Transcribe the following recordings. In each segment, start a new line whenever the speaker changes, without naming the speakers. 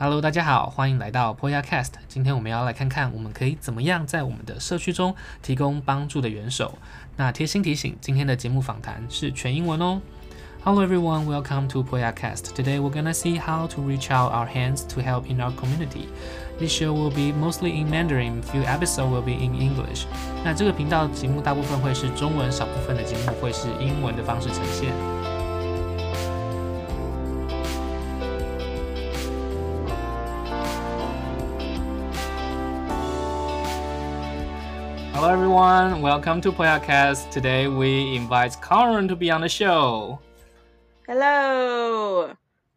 Hello， 大家好，歡迎來到 Poyacast。今天我們要來看看我們可以怎麼樣在我們的社區中提供幫助的元首。那貼心提醒，今天的節目訪談是全英文哦。Hello everyone, welcome to Poyacast. Today we're gonna see how to reach out our hands to help in our community. This show will be mostly in Mandarin, few episodes will be in English. 那這個頻道節目大部分會是中文，少部分的節目會是英文的方式呈現。Hello everyone, welcome to Poyacast. Today we invite Karen to be on the show.
Hello.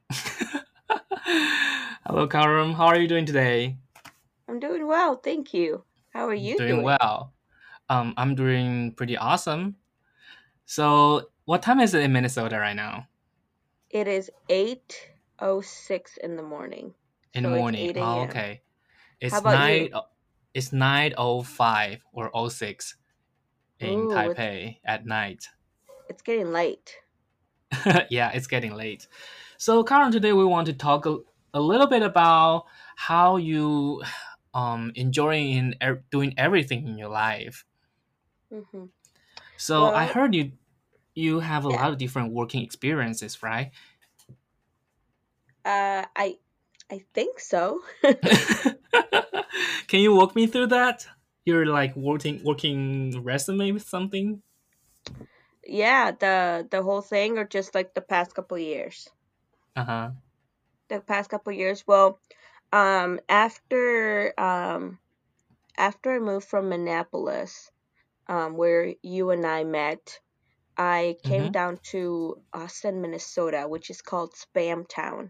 Hello Karen, how are you doing today?
I'm doing well, thank you. How are you doing?
Doing well. I'm doing pretty awesome. So, what time is it in Minnesota right now?
It is 8:06 in the morning.
In the morning.
It's 8 a.m.
Oh, okay.
How about you?
It's 9:05 or 06 in
Ooh,
Taipei at night.
It's getting late.
Yeah, it's getting late. So, Karen, today we want to talk a little bit about how you enjoying doing everything in your life.
Mm-hmm.
So,
Well,
I heard you have a lot of different working experiences, right?
I think so.
Can you walk me through that? You're like working resume with something?
Yeah, the whole thing, or just like the past couple years?
Uh-huh.
The past couple years. Well, after I moved from Minneapolis, where you and I met, I came down to Austin, Minnesota, which is called Spam Town.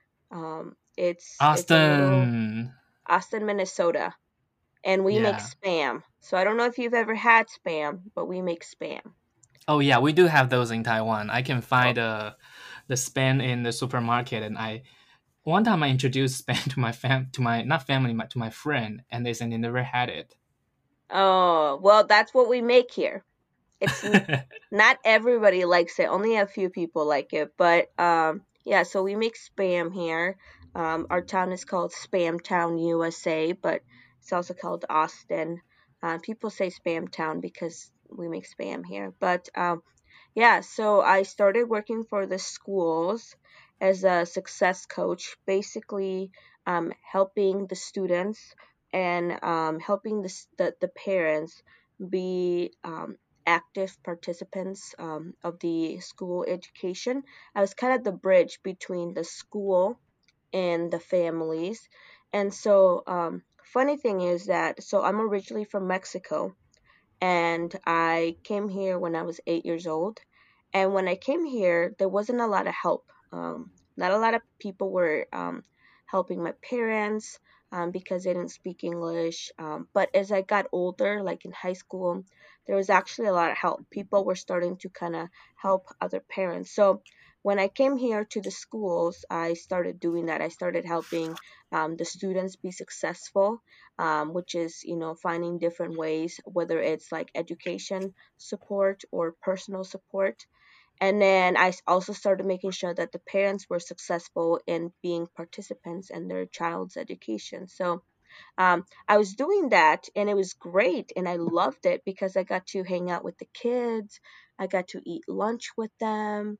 It's a little Austin, Minnesota, and we make Spam. So I don't know if you've ever had Spam, but we make Spam.
Oh yeah, we do have those in Taiwan. I can find the Spam in the supermarket, and one time I introduced Spam to my not family, but to my friend, and they said they never had it.
Oh, well, that's what we make here. It's not everybody likes it. Only a few people like it. But yeah, so we make Spam here. Our town is called Spam Town, USA, but it's also called Austin. People say Spam Town because we make Spam here. But yeah, so I started working for the schools as a success coach, basically helping the students and helping the parents be active participants of the school education. I was kind of the bridge between the school and the families. And so, funny thing is that, so I'm originally from Mexico, and I came here when I was 8 years old. And when I came here, there wasn't a lot of help. Not a lot of people were helping my parents because they didn't speak English. But as I got older, like in high school, there was actually a lot of help. People were starting to kind of help other parents. So when I came here to the schools, I started doing that. I started helping the students be successful, which is, finding different ways, whether it's like education support or personal support. And then I also started making sure that the parents were successful in being participants in their child's education. So I was doing that, and it was great, and I loved it because I got to hang out with the kids. I got to eat lunch with them.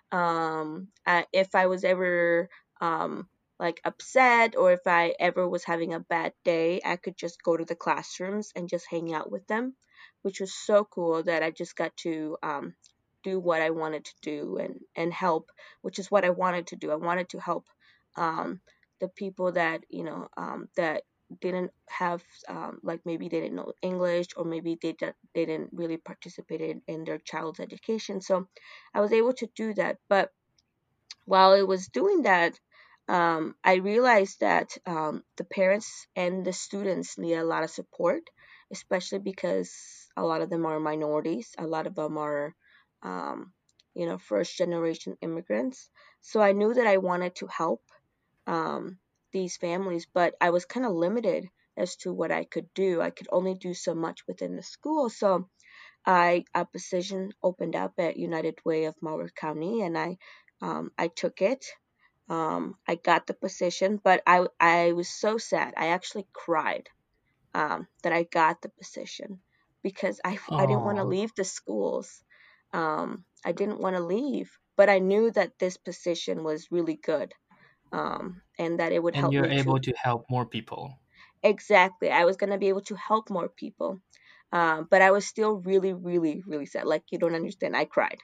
If I was ever like upset, or if I ever was having a bad day, I could just go to the classrooms and just hang out with them, which was so cool that I just got to do what I wanted to do and help, which is what I wanted to do. I wanted to help the people that that didn't have like maybe they didn't know English, or maybe they didn't really participate in their child's education. So I was able to do that. But while I was doing that, I realized that the parents and the students need a lot of support, especially because a lot of them are minorities. A lot of them are, first generation immigrants. So I knew that I wanted to help um, these families, but I was kind of limited as to what I could do. I could only do so much within the school. So a position opened up at United Way of Broward County, and I took it. I got the position, but I was so sad. I actually cried that I got the position because I didn't want to
Oh,
leave the schools. I didn't want to leave, but I knew that this position was really good, and that it would
and
help
you're
me
able
to
to help more people.
exactly. I was going to be able to help more people. But I was still really, really, really sad. Like, you don't understand. I cried.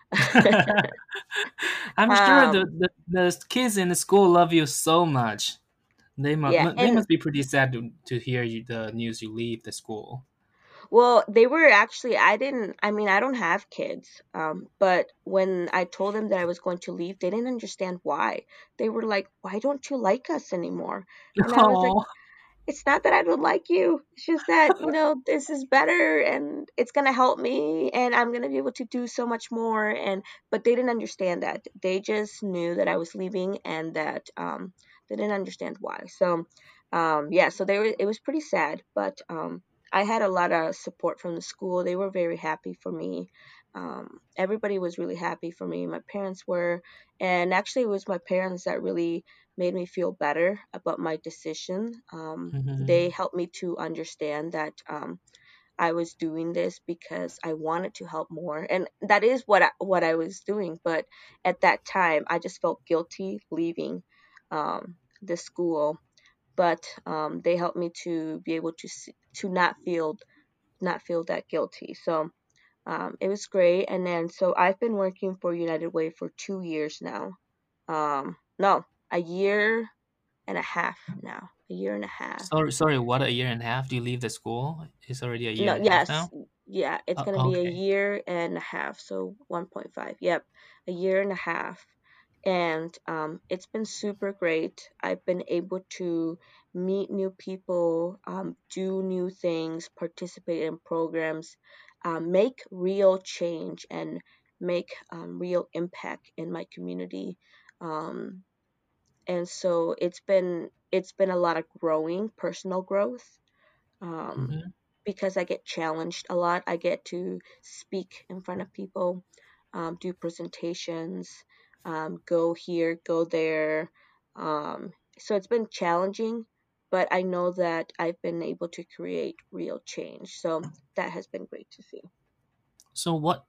I'm sure
um,
the kids in the school love you so much.
yeah.
They
And
must be pretty sad to hear the news you leave the school.
well, they were actually, I mean, I don't have kids. But when I told them that I was going to leave, they didn't understand why. They were like, why don't you like us anymore? And I was like,
Oh,
it's not that I don't like you. It's just that, this is better and it's going to help me and I'm going to be able to do so much more. But they didn't understand that. They just knew that I was leaving and that, they didn't understand why. So, yeah, so it was pretty sad, but, I had a lot of support from the school. They were very happy for me. Everybody was really happy for me. My parents were, and actually it was my parents that really made me feel better about my decision. They
hmm.
helped me to understand that, I was doing this because I wanted to help more, and that is what I was doing. But at that time, I just felt guilty leaving the school. But they helped me to be able to to not feel that guilty. So it was great. And then so I've been working for United Way for 2 years now. No, a year and a half now. A year and a half.
Sorry. What, a year and a half? Do you leave the school? It's already a year
No,
and a half
yes.
now.
Yeah, it's going to be a
Okay.
year and a half. So 1.5. Yep. A year and a half. And it's been super great. I've been able to meet new people, do new things, participate in programs, make real change, and make real impact in my community. Um, and so it's been a lot of growing, personal growth, um,
Hmm.
because I get challenged a lot. I get to speak in front of people, do presentations, go here, go there. So it's been challenging, but I know that I've been able to create real change. So that has been great to see.
So what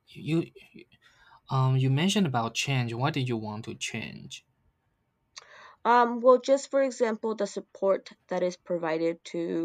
you mentioned about change. What did you want to change?
Well, just for example, the support that is provided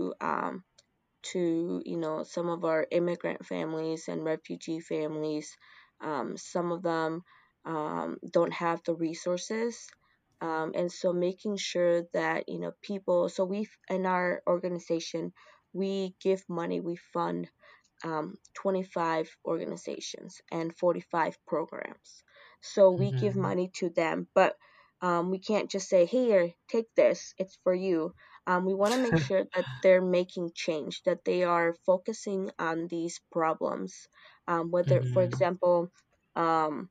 to some of our immigrant families and refugee families. Some of them don't have the resources, and so making sure that people. So we in our organization we give money, we fund 25 organizations and 45 programs. So we give
Hmm.
money to them, but we can't just say, here, take this, it's for you. We want to make sure that they're making change, that they are focusing on these problems. Whether, for
Hmm.
example, um,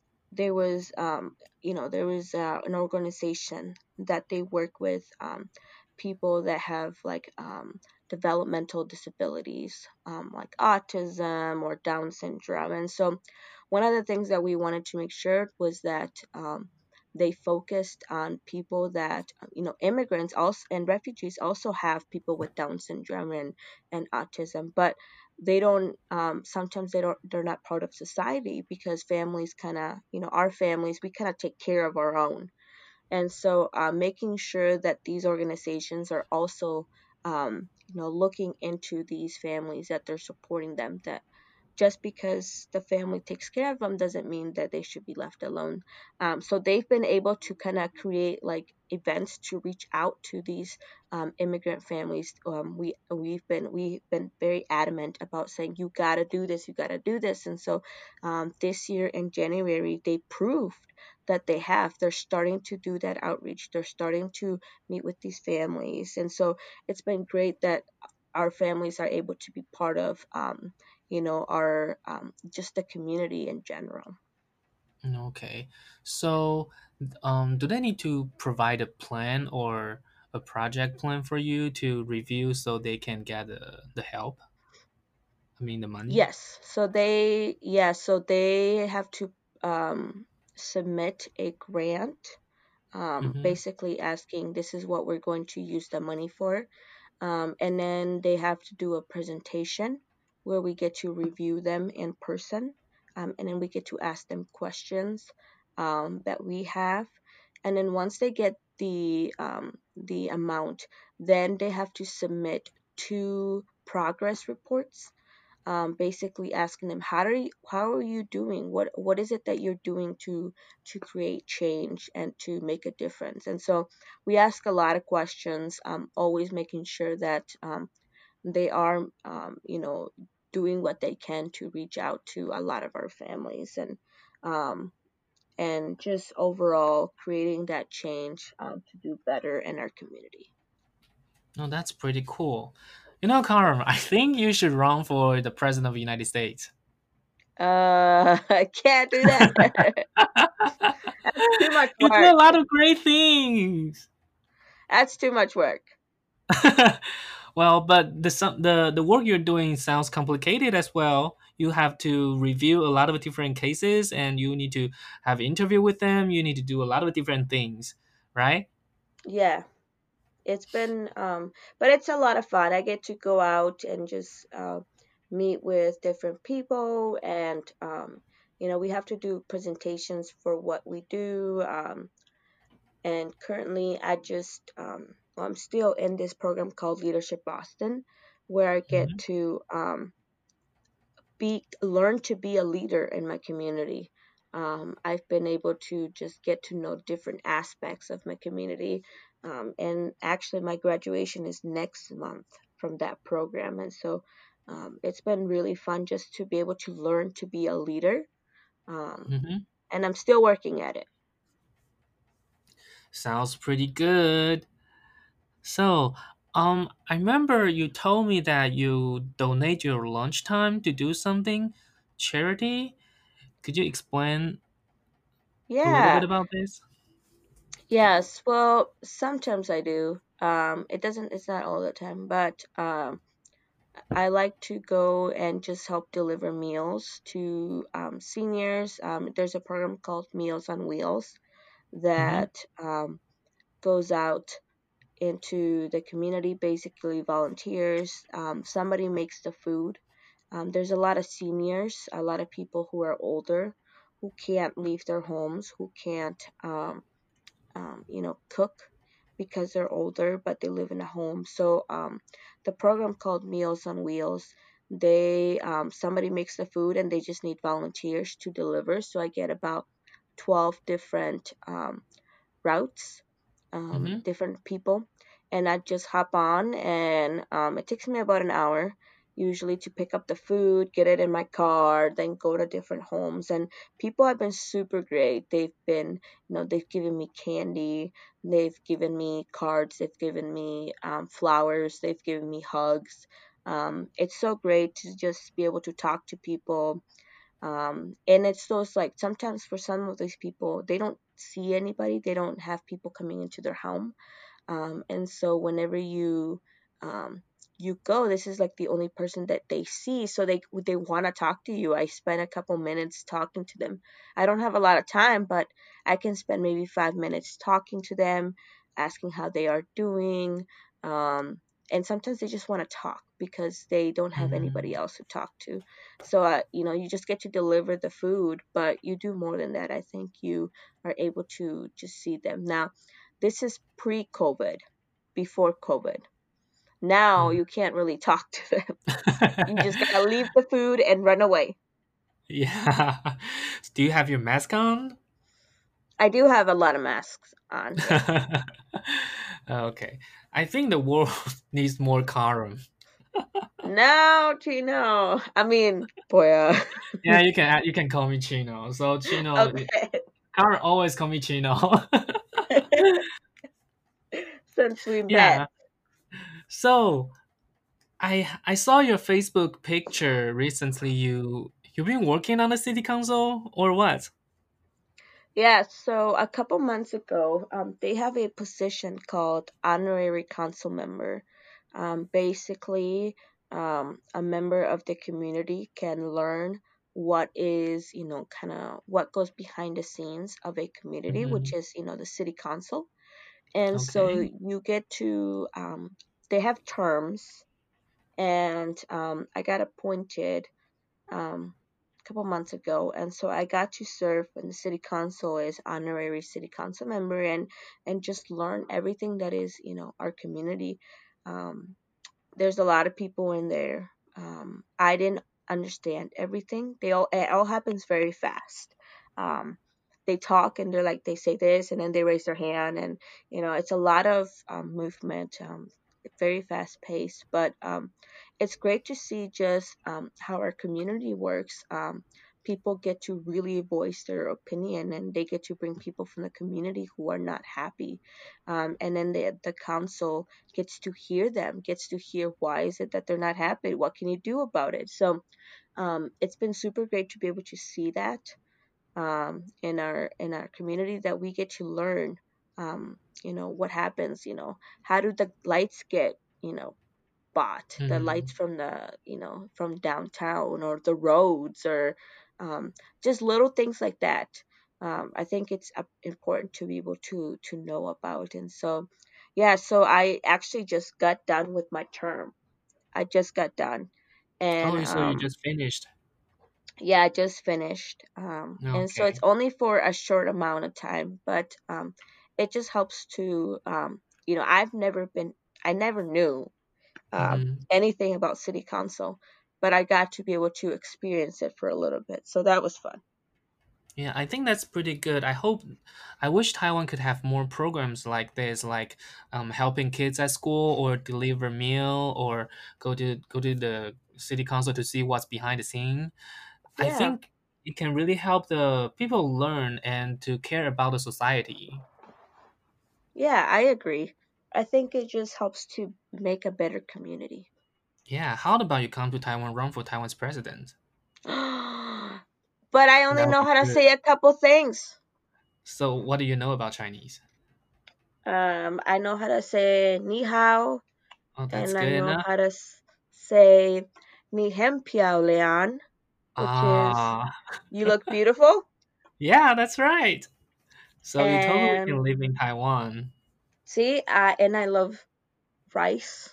there was an organization that they work with people that have like developmental disabilities, like autism or Down syndrome. And so one of the things that we wanted to make sure was that they focused on people that immigrants also and refugees also have people with Down syndrome and autism, but they don't sometimes they're not part of society because families kind of our families, we kind of take care of our own. And so making sure that these organizations are also looking into these families, that they're supporting them, that just because the family takes care of them doesn't mean that they should be left alone. So they've been able to kind of create like events to reach out to these immigrant families. We've been very adamant about saying you gotta do this, you gotta do this. And so this year in January they proved that they're starting to do that outreach. They're starting to meet with these families, and so it's been great that our families are able to be part of our just the community in general.
Okay. So, do they need to provide a plan or a project plan for you to review so they can get the help? I mean, the money?
So they have to submit a grant,
Mm-hmm.
basically asking, this is what we're going to use the money for. And then they have to do a presentation where we get to review them in person. And then we get to ask them questions that we have. And then once they get the amount, then they have to submit two progress reports, basically asking them, how are you doing, what is it that you're doing to create change and to make a difference. And so we ask a lot of questions, always making sure that they are doing what they can to reach out to a lot of our families, um, and just overall creating that change, to do better in our community.
No, that's pretty cool. Carm, I think you should run for the president of the United States.
I can't do that. That's too much
You do a
work.
lot of great things.
That's too much work.
Well, but the work you're doing sounds complicated as well. You have to review a lot of different cases, and you need to have interview with them. You need to do a lot of different things, right?
Yeah, it's been, but it's a lot of fun. I get to go out and just meet with different people, and we have to do presentations for what we do. And currently, well, I'm still in this program called Leadership Boston, where I get
Hmm.
to be learn to be a leader in my community. I've been able to just get to know different aspects of my community, and actually, my graduation is next month from that program, and so it's been really fun just to be able to learn to be a leader, um,
Hmm.
and I'm still working at it.
Sounds pretty good. So, I remember you told me that you donate your lunchtime to do something charity. Could you explain a little bit
Yeah,
about this?
yes. Well, sometimes I do. It's not all the time, but I like to go and just help deliver meals to seniors. There's a program called Meals on Wheels
Mm-hmm.
that goes out into the community, basically volunteers. Somebody makes the food. There's a lot of seniors, a lot of people who are older, who can't leave their homes, who can't cook because they're older, but they live in a home. So the program called Meals on Wheels, they somebody makes the food and they just need volunteers to deliver. So I get about 12 different routes,
Mm-hmm.
different people, and I just hop on, and it takes me about an hour usually to pick up the food, get it in my car, then go to different homes. And people have been super great. They've given me candy, they've given me cards, they've given me flowers, they've given me hugs. It's so great to just be able to talk to people, and it's those, like, sometimes for some of these people, they don't see anybody, they don't have people coming into their home, and so whenever um, you go, this is like the only person that they see, so they want to talk to you. I spend a couple minutes talking to them. I don't have a lot of time, but I can spend maybe 5 minutes talking to them, asking how they are doing. Um, and sometimes they just want to talk because they don't have anybody
Mm-hmm.
else to talk to. So, you just get to deliver the food, but you do more than that. I think you are able to just see them. Now, this is pre-COVID, before COVID. Now you can't really talk to them. You just gotta leave the food and run away.
Yeah. Do you have your mask on?
I do have a lot of masks on, yeah.
Okay. I think the world needs more Karam.
No, Chino. I mean, boy,
Yeah, you can call me Chino. So Chino,
okay.
Karam always call me Chino.
Since we met.
Yeah. So I saw your Facebook picture recently. You've been working on the city council or what?
Yeah, so a couple months ago, they have a position called honorary council member. Basically, a member of the community can learn what is, kind of what goes behind the scenes of a community, which
Mhm.
is, the city council. And so
Okay.
you get to, they have terms, and I got appointed a couple months ago, and so I got to serve in the city council as honorary city council member, and just learn everything that is, our community. Um, there's a lot of people in there. I didn't understand everything. It all happens very fast. Um, they talk and they say this and then they raise their hand, and it's a lot of movement. Very fast paced, but it's great to see just how our community works. People get to really voice their opinion, and they get to bring people from the community who are not happy, and then the council gets to hear them, gets to hear why is it that they're not happy, what can you do about it. So it's been super great to be able to see that in our community, that we get to learn what happens, how do the lights get bought, the lights
Mhm.
from from downtown, or the roads, or um, just little things like that. I think it's important to be able to know about. And so yeah, so I actually just got done with my term. I just got done. And
Oh, so you just finished.
yeah, I just finished. And so it's
Okay.
only for a short amount of time, but it just helps to I never knew
Mhm.
anything about city council, but I got to be able to experience it for a little bit. So that was fun.
Yeah, I think that's pretty good. I wish Taiwan could have more programs like this, like helping kids at school, or deliver meal, or go to the city council to see what's behind the scene. I
Yeah,
think it can really help the people learn and to care about the society.
yeah, I agree. I think it just helps to make a better community.
Yeah, how about you come to Taiwan, run for Taiwan's president?
But I only
That would
know
be
how to
good.
say a couple things.
So, what do you know about Chinese?
I know how to say ni hao,
Oh, that's
and I
good
know
enough.
how to say ni hen piao lian, which is
Ah,
you look beautiful.
yeah, that's right. So you totally
And
can live in Taiwan.
see, and I love rice.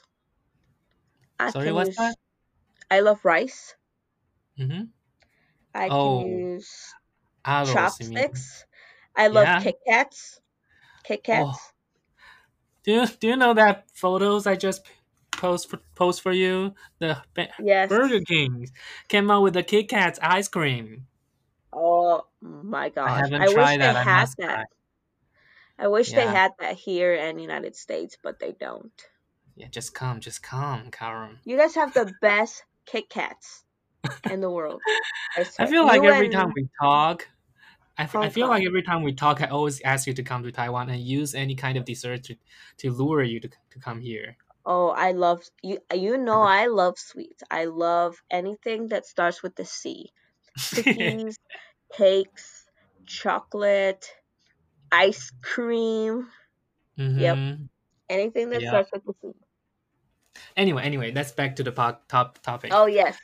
I
Sorry,
can
what's that?
use, I love rice.
Mm-hmm.
I can
Oh,
use
arroz, you mean?
chopsticks. I love
Yeah.
Kit Kats. Kit
Oh,
Kats.
do you know that photos I just post for you? The Burger
Yes.
King came out with the Kit Kat ice cream.
Oh my
I
gosh.
haven't
I wish
tried
they
that. I
had
must
that.
try.
I wish they
Yeah,
had that here in the United States, but they don't.
yeah. Just come, Karen.
You guys have the best Kit Kats in the world. I
I
swear.
feel like
You
every time
and
we talk, I
Hong
feel like
Kong.
every time we talk, I always ask you to come to Taiwan and use any kind of dessert to lure you to come here.
Oh, I love you. You know I love sweets. I love anything that starts with the C. Cookies, cakes, chocolate, ice cream. Yep,
Mm-hmm.
anything that
Yeah.
starts with the C.
Anyway, let's back to the top topic.
Oh yes.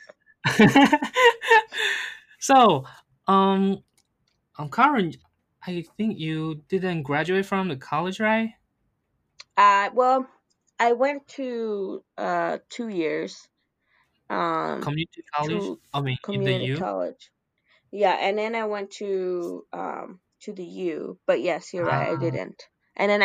So, um, Karen, I think you didn't graduate from the college, right?
Well, I went to 2 years
Community college.
to
I mean, in the
community
U.
college. Yeah, and then I went to the U. But yes, you're right, I didn't. And then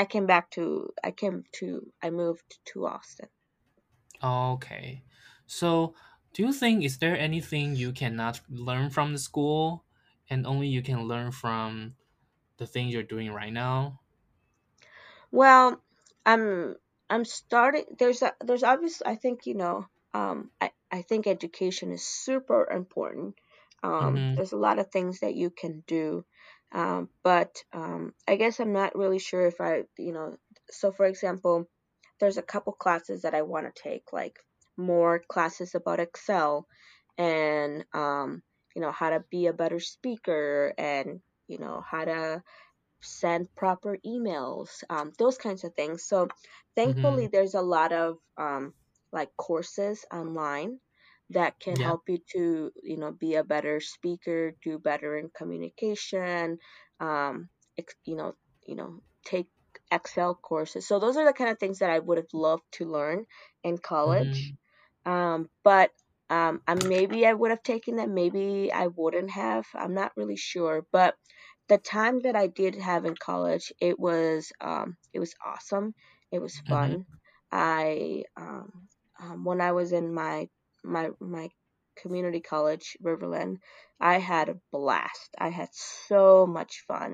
I moved to Austin.
Okay. So, do you think is there anything you cannot learn from the school and only you can learn from the thing you're doing right now?
Well, I'm I'm starting. There's obviously, I think, I think education is super important.
Mm-hmm.
There's a lot of things that you can do, but I guess I'm not really sure if So for example, there's a couple classes that I want to take, like more classes about Excel, and how to be a better speaker, and how to send proper emails, those kinds of things. So
Mm-hmm.
thankfully, there's a lot of like courses online that can
Yeah.
help you to, be a better speaker, do better in communication, um, you know, take Excel courses. So those are the kind of things that I would have loved to learn in college.
Mm-hmm.
But maybe I would have taken them, maybe I wouldn't have. I'm not really sure. But the time that I did have in college, it was awesome. It was
Mm-hmm.
fun. I When I was in my community college, Riverland, I had a blast. I had so much fun.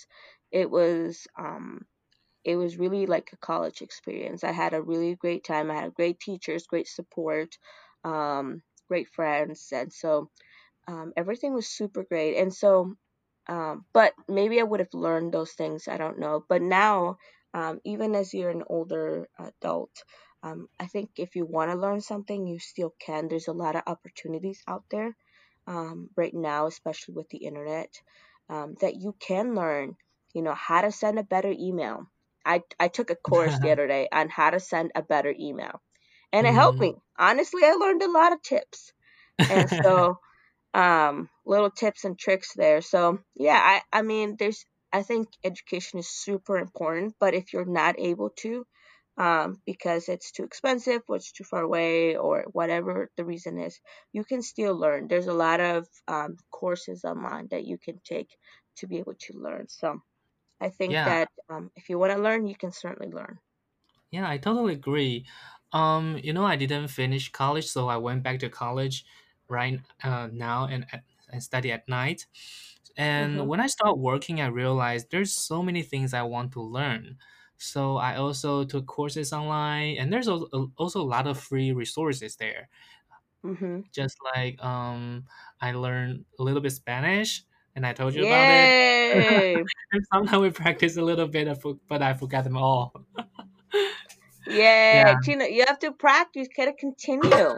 It was really like a college experience. I had a really great time. I had great teachers, great support, great friends, and so everything was super great. And so, but maybe I would have learned those things. I don't know. But now, even as you're an older adult, I think if you want to learn something, you still can. There's a lot of opportunities out there right now, especially with the internet, that you can learn. How to send a better email. I took a course the other day on how to send a better email, and it helped
Mm-hmm.
me. Honestly, I learned a lot of tips, and so little tips and tricks there. So yeah, I mean, I think education is super important, but if you're not able to, because it's too expensive or it's too far away or whatever the reason is, you can still learn. There's a lot of courses online that you can take to be able to learn. So I think
Yeah.
that if you want to learn, you can certainly learn.
Yeah, I totally agree. I didn't finish college, so I went back to college right now and study at night. And
Hmm.
when I start working, I realized there's so many things I want to learn. So I also took courses online, and there's also a lot of free resources there.
Hmm.
Just like I learned a little bit Spanish, and I told you about it.
Yay!
And sometimes we practice a little bit, but I forgot them all.
Yeah,
Yeah.
you have to practice. You gotta continue.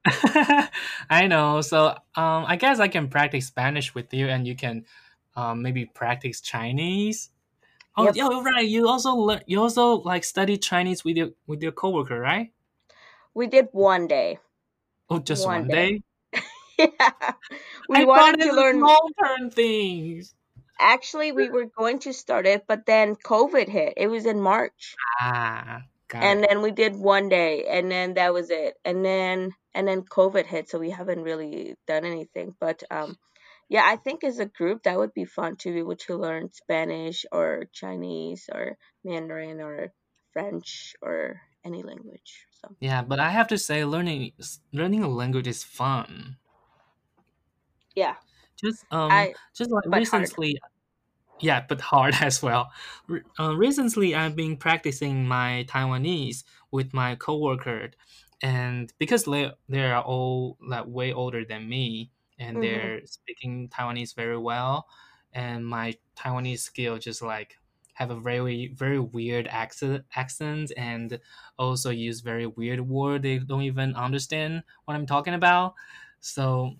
I know. So I guess I can practice Spanish with you, and you can maybe practice Chinese. Oh,
Yep,
yeah, right. You also like study Chinese with your coworker, right?
we did one day.
Oh, just
One
one
day.
day.
Yeah. We
I thought
wanted
it's
to
a
learn.
long term things.
Actually, we were going to start it, but then COVID hit. It was in March.
Ah, got
And
it.
then we did one day, and then that was it. And then COVID hit, so we haven't really done anything. But yeah, I think as a group that would be fun to be able to learn Spanish or Chinese or Mandarin or French or any language. So
Yeah, but I have to say, learning a language is fun.
yeah, I
Just like
but hard.
recently, yeah, but hard as well. Recently, I've been practicing my Taiwanese with my coworker, and because they are all like way older than me, and
Mhm.
they're speaking Taiwanese very well, and my Taiwanese skill just like have a very weird accent and also use very weird word they don't even understand what I'm talking about. So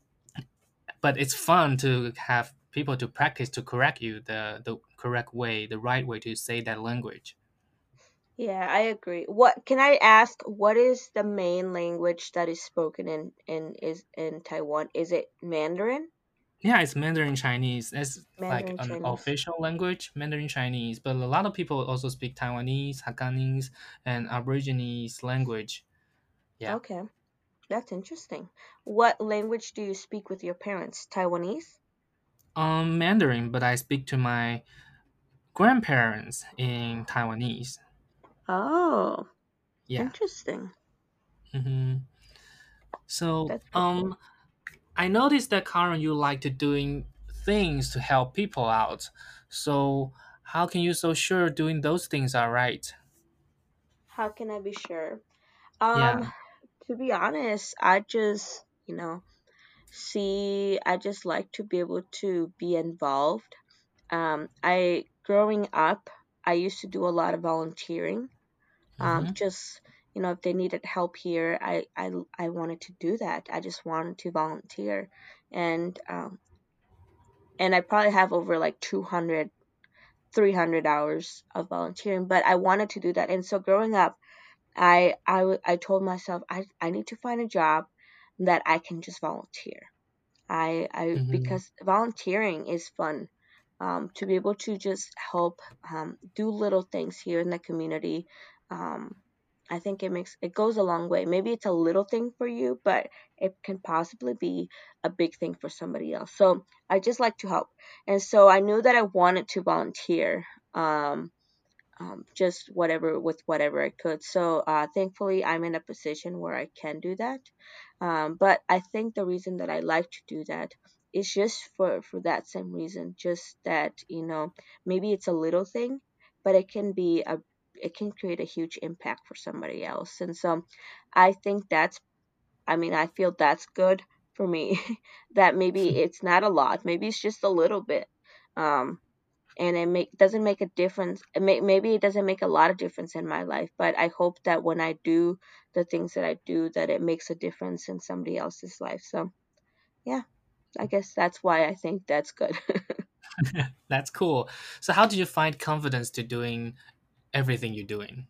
but it's fun to have people to practice to correct you the correct way, the right way to say that language.
Yeah, I agree. What can I ask? What is the main language that is spoken in Taiwan? Is it Mandarin?
Yeah, it's Mandarin Chinese. It's like
Mandarin
an
Chinese.
official language, Mandarin Chinese. But a lot of people also speak Taiwanese, Hakkanese, and Aborigines language. Yeah,
Okay, that's interesting. What language do you speak with your parents? Taiwanese?
Mandarin. But I speak to my grandparents in Taiwanese.
Oh,
Yeah.
interesting.
hmm So
That's pretty cool.
I noticed that Karen, you like to doing things to help people out. So how can you so sure doing those things are right?
How can I be sure?
Yeah.
To be honest, I just, I just like to be able to be involved. I growing up, I used to do a lot of volunteering.
Mm-hmm.
Just if they needed help here, I wanted to do that. I just wanted to volunteer, and I probably have over like 200, 300 hours of volunteering. But I wanted to do that, and so growing up, I told myself I need to find a job that I can just volunteer.
Mm-hmm.
Because volunteering is fun. To be able to just help do little things here in the community, um, I think it goes a long way. Maybe it's a little thing for you, but it can possibly be a big thing for somebody else. So I just like to help, and so I knew that I wanted to volunteer. Just whatever with whatever I could. So thankfully, I'm in a position where I can do that. But I think the reason that I like to do that is just for that same reason, just that maybe it's a little thing, but it can create a huge impact for somebody else. And so I think I feel that's good for me. That maybe it's not a lot, maybe it's just a little bit. Um, and doesn't make a difference. Maybe it doesn't make a lot of difference in my life, but I hope that when I do the things that I do, that it makes a difference in somebody else's life. So yeah, I guess that's why I think that's good.
That's cool. So how do you find confidence to doing everything you're doing?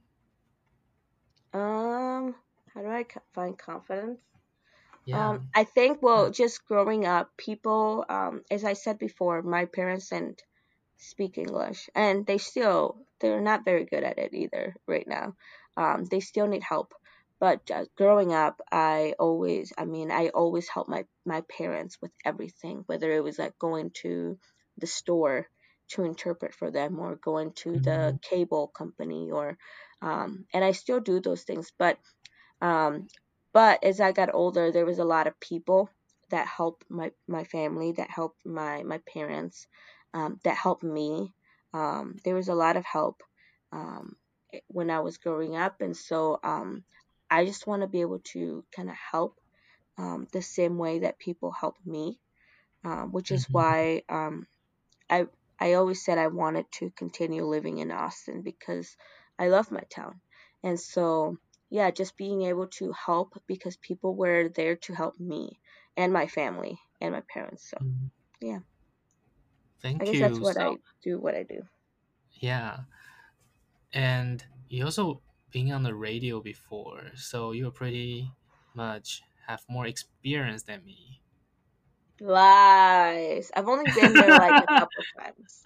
um, how do I find confidence?
Yeah.
I think, well, just growing up, people, as I said before, my parents didn't speak English, and they're not very good at it either right now. They still need help. But growing up, I always helped my parents with everything, whether it was like going to the store to interpret for them, or going to the
Mm-hmm.
cable company, and I still do those things. Um, but as I got older, there was a lot of people that helped my family, that helped my parents, that helped me. There was a lot of help um, when I was growing up, and so I just want to be able to kind of help the same way that people help me, which is
Mm-hmm.
why I I always said I wanted to continue living in Austin because I love my town. And so yeah, just being able to help because people were there to help me and my family and my parents. So
Mm-hmm.
yeah, I
Thank
guess that's
you.
what
So
I do.
yeah, and you also being on the radio before, so you're pretty much have more experience than me.
Lies. I've only been there like a couple times.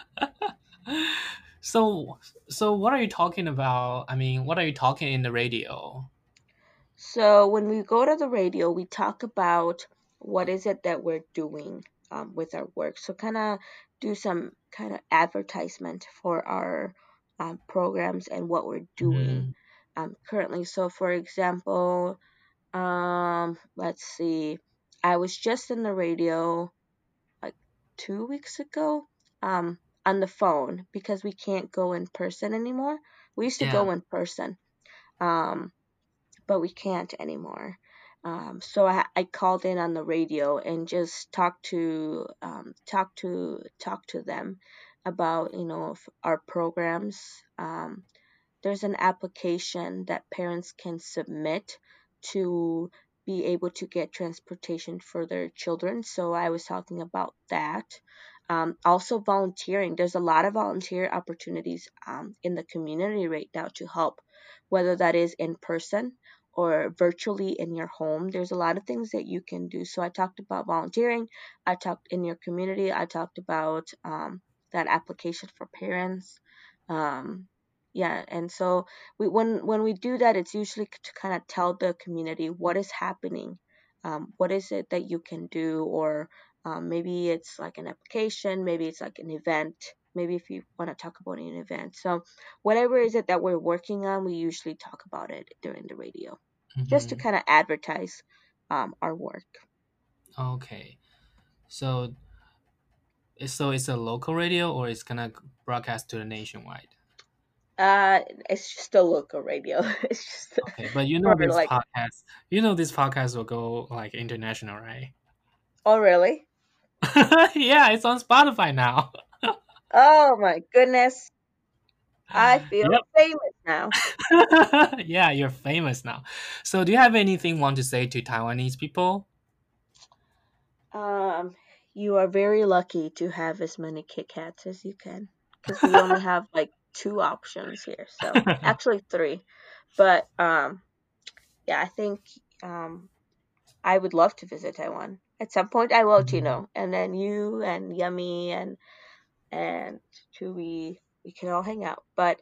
So, so what are you talking about? I mean, what are you talking in the radio?
So when we go to the radio, we talk about what is it that we're doing with our work. So kind of do some kind of advertisement for our programs and what we're doing
Mm-hmm.
currently. So for example, let's see, I was just in the radio like 2 weeks ago on the phone because we can't go in person anymore. We used to
Yeah.
go in person. Um, but we can't anymore. So I called in on the radio and just talk to them about our programs. There's an application that parents can submit to be able to get transportation for their children. So I was talking about that. Also, volunteering. There's a lot of volunteer opportunities in the community right now to help, whether that is in person or virtually in your home. There's a lot of things that you can do. So I talked about volunteering. I talked in your community. I talked about that application for parents. Um, yeah, and so when we do that, it's usually to kind of tell the community what is happening, what is it that you can do, or maybe it's like an application, maybe it's like an event, maybe if you want to talk about an event. So whatever is it that we're working on, we usually talk about it during the radio, just to
Mm-hmm.
kind of advertise our work.
Okay. So, so it's a local radio, or it's gonna broadcast to the nationwide?
It's just a local radio. It's just
Okay, but
for like,
this podcast will go like international, right?
oh really?
Yeah, it's on Spotify now.
Oh my goodness. I feel
Yep.
famous now.
Yeah, you're famous now. So, do you have anything you want to say to Taiwanese people?
Um, you are very lucky to have as many Kit Kats as you can, because we only have like two options here. So actually three, but yeah, I think um I would love to visit Taiwan. At some point I will,
Mhm.
Chino. And then you and Yummy and Chewy, we can all hang out. But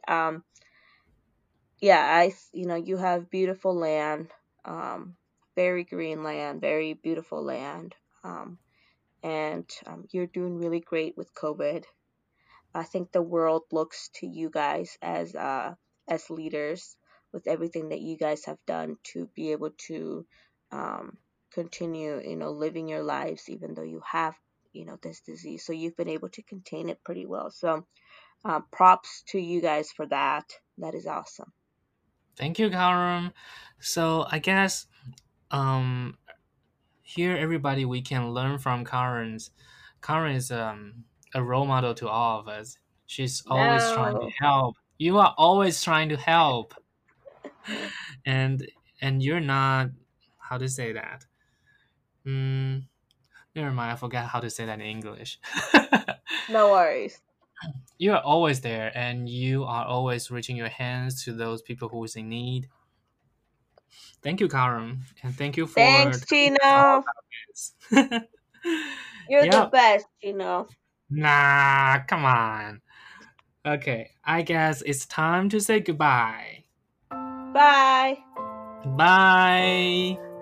yeah, you have beautiful land, um, very green land, very beautiful land. Um, and you're doing really great with COVID. I think the world looks to you guys as leaders with everything that you guys have done to be able to um, continue, living your lives even though you have, this disease. So you've been able to contain it pretty well. So props to you guys for that. That is awesome.
Thank you, Karen. So I guess um here everybody we can learn from Karen's. Karen is a role model to all of us. She's always trying to
No.
help. You are always trying to help, and you're not, how to say that. Mm, Never mind. I forgot how to say that in English.
No worries.
You are always there, and you are always reaching your hands to those people who is in need. Thank you, Karen, and thank you for
Thanks,
telling us all
Chino.
about this.
You're the
Yep.
best, Chino.
Nah, come on. Okay, I guess it's time to say goodbye.
Bye.
Bye.